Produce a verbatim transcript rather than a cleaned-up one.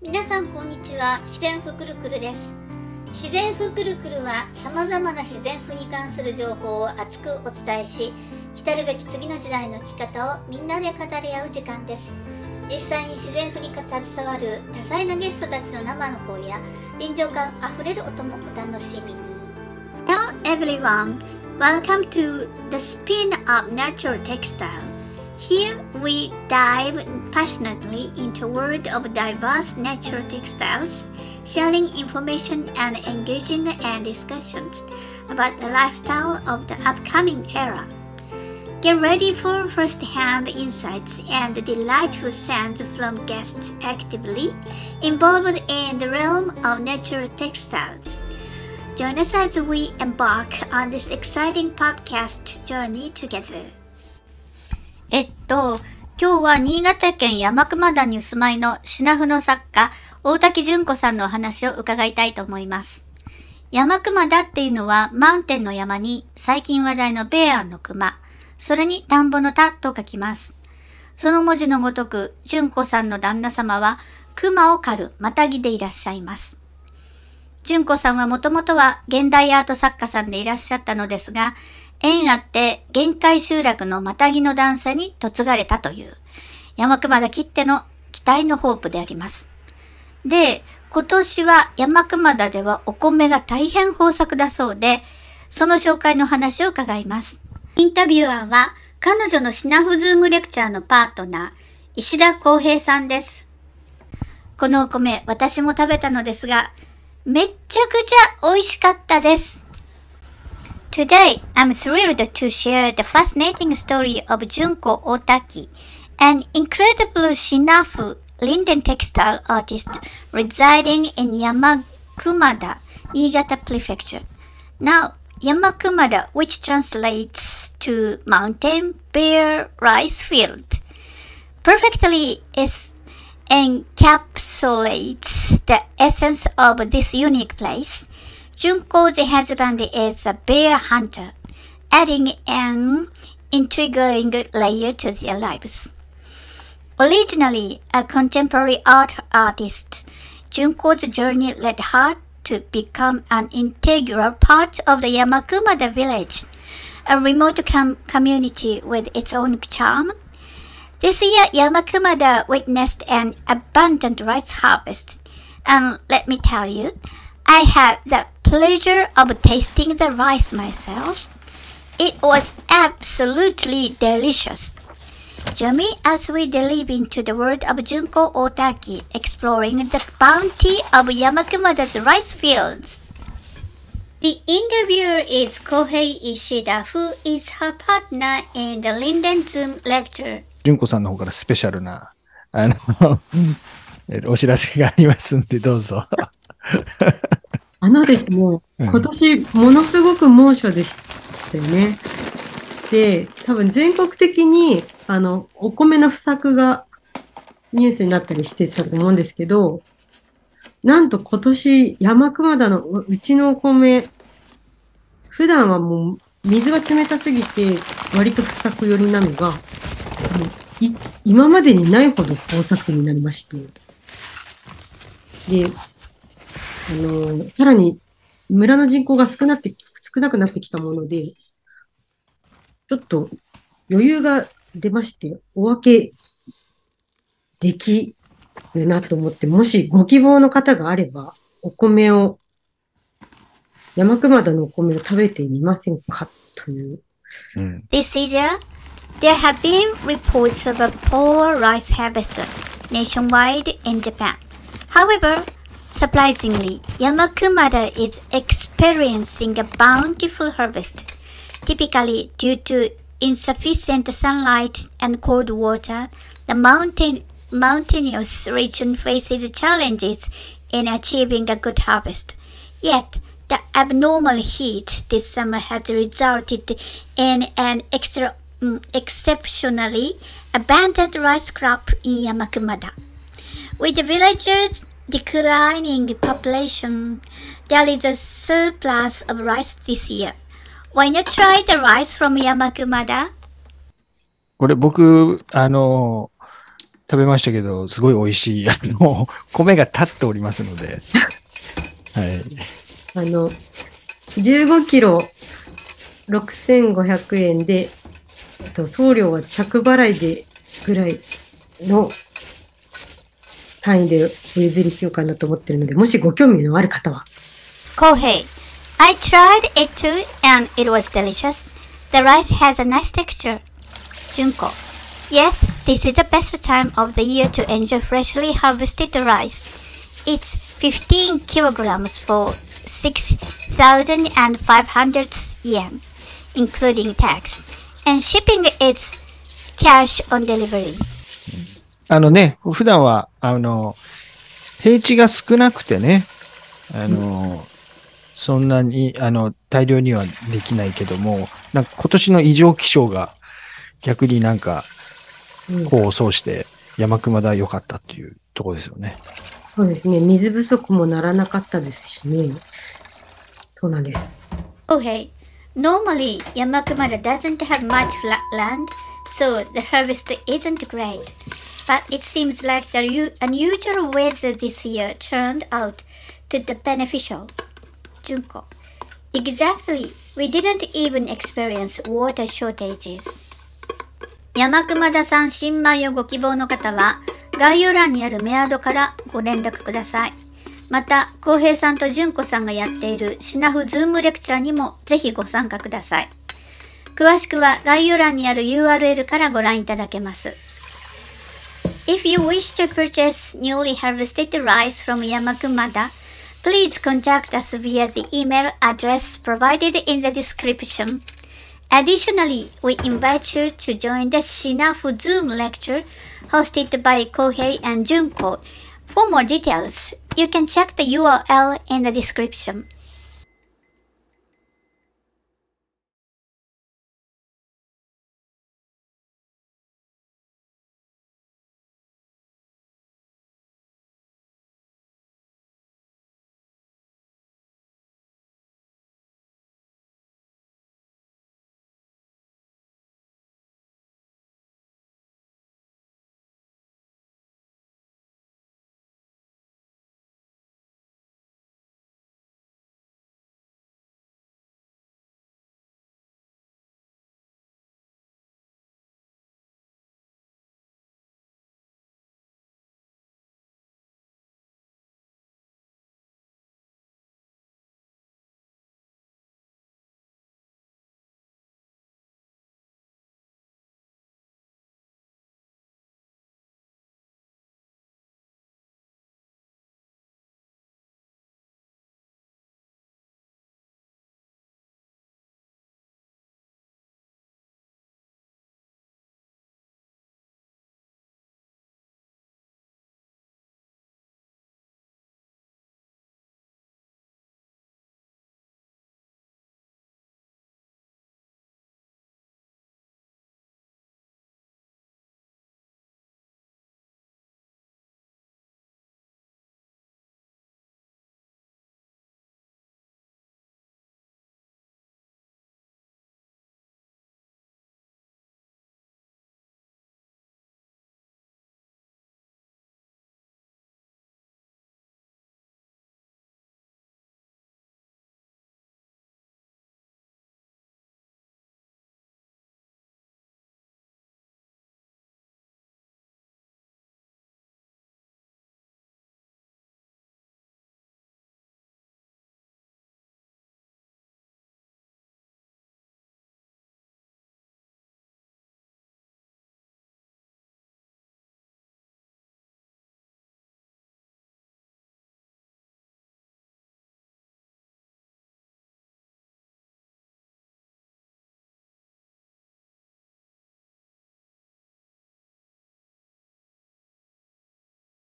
皆さんこんにちは。自然ふくるくるです。自然ふくるくるは様々な自然ふに関する情報を熱くお伝えし、来るべき次の時代の生き方をみんなで語り合う時間です。実際に自然ふに携わる多彩なゲストたちの生の声や臨場感あふれる音もお楽しみに。Hello everyone, welcome to the spin of natural textile.Here we dive passionately into a world of diverse natural textiles, sharing information and engaging in discussions about the lifestyle of the upcoming era. Get ready for first-hand insights and delightful sounds from guests actively involved in the realm of natural textiles. Join us as we embark on this exciting podcast journey together.えっと、今日は新潟県山熊田にお住まいの品布の作家、大滝純子さんのお話を伺いたいと思います。山熊田っていうのは、マウンテンの山に最近話題のベアの熊、それに田んぼの田と書きます。その文字のごとく、純子さんの旦那様は、熊を狩るまたぎでいらっしゃいます。純子さんはもともとは現代アート作家さんでいらっしゃったのですが、縁あって限界集落のまたぎの段差に嫁がれたという山熊田きっての期待のホープであります。で、今年は山熊田ではお米が大変豊作だそうで、その紹介の話を伺います。インタビュアーは彼女の品布ズームレクチャーのパートナー、石田康平さんです。このお米、私も食べたのですが、めっちゃくちゃ美味しかったです。Today, I'm thrilled to share the fascinating story of Junko Otaki, an incredible Shinafu linden textile artist residing in Yamakumada, Niigata Prefecture. Now, Yamakumada, which translates to mountain bare rice field, perfectly is encapsulates the essence of this unique place.Junko's husband is a bear hunter, adding an intriguing layer to their lives. Originally a contemporary art artist, Junko's journey led her to become an integral part of the Yamakumada village, a remote com- community with its own charm. This year, Yamakumada witnessed an abundant rice harvest, and let me tell you,I had the pleasure of tasting the rice myself. It was absolutely delicious. Join me as we delve into the world of Junko Otaki, exploring the bounty of Yamakumada's rice fields. The interviewer is Kohei Ishida, who is her partner in the Linden Zoom lecture. 純子さんの方からスペシャルなあのお知らせがありますんでどうぞ。 あのですね、今年ものすごく猛暑でしたよね。で、多分全国的にあのお米の不作がニュースになったりしてたと思うんですけど、なんと今年山熊田のうちのお米、普段はもう水が冷たすぎて割と不作寄りなのが、い今までにないほど豊作になりまして。で、あの、さらに村の人口が少なって、少なくなってきたもので、ちょっと余裕が出まして、お分けできるなと思って、もしご希望の方があれば、お米を、山熊田のお米を食べてみませんかという。 うん、This year, there have been reports of a poor rice harvest nationwide in Japan. However,Surprisingly, Yamakumada is experiencing a bountiful harvest, typically due to insufficient sunlight and cold water. The mountain, mountainous region faces challenges in achieving a good harvest. Yet, the abnormal heat this summer has resulted in an extra, um, exceptionally abundant rice crop in Yamakumada. With the villagers,declining population, there is a surplus of rice this year. Why not try the rice from Yamakumada? これ僕、あの、 食べましたけど、すごい美味しい。あの、米が立っておりますので。はい。 あの、じゅうごキロろくせんごひゃくえんで、えっと、送料は着払いでぐらいの単位でお譲りしようかなと思ってるので、もしご興味のある方は。 Kohei, I tried it too and it was delicious. The rice has a nice texture. Junko, yes, this is the best time of the year to enjoy freshly harvested rice. It's fifteen kilograms for six thousand five hundred yen, including tax, and shipping is cash on delivery. あのね、普段は、あの、平地が少なくてね、あの、うん、そんなに、あの、大量にはできないけども、なんか今年の異常気象が逆になんか、功を奏して山熊田良かったっていうところですよね。 そうですね。水不足もならなかったですしね。そうなんです。 Okay. Normally, Yamakumada doesn't have much flat land, so the harvest isn't great. But it seems like the unusual weather this year turned out to be beneficial. Junko. Exactly. We didn't even experience water shortages. 山熊田さん新米をご希望の方は概要欄にあるメアドからご連絡ください。また、浩平さんと純子さんがやっているシナフズームレクチャーにもぜひご参加ください。詳しくは概要欄にある ユーアールエル からご覧いただけます。If you wish to purchase newly harvested rice from Yamakumada, please contact us via the email address provided in the description. Additionally, we invite you to join the Shinafu Zoom lecture hosted by Kohei and Junko. For more details, you can check the U R L in the description.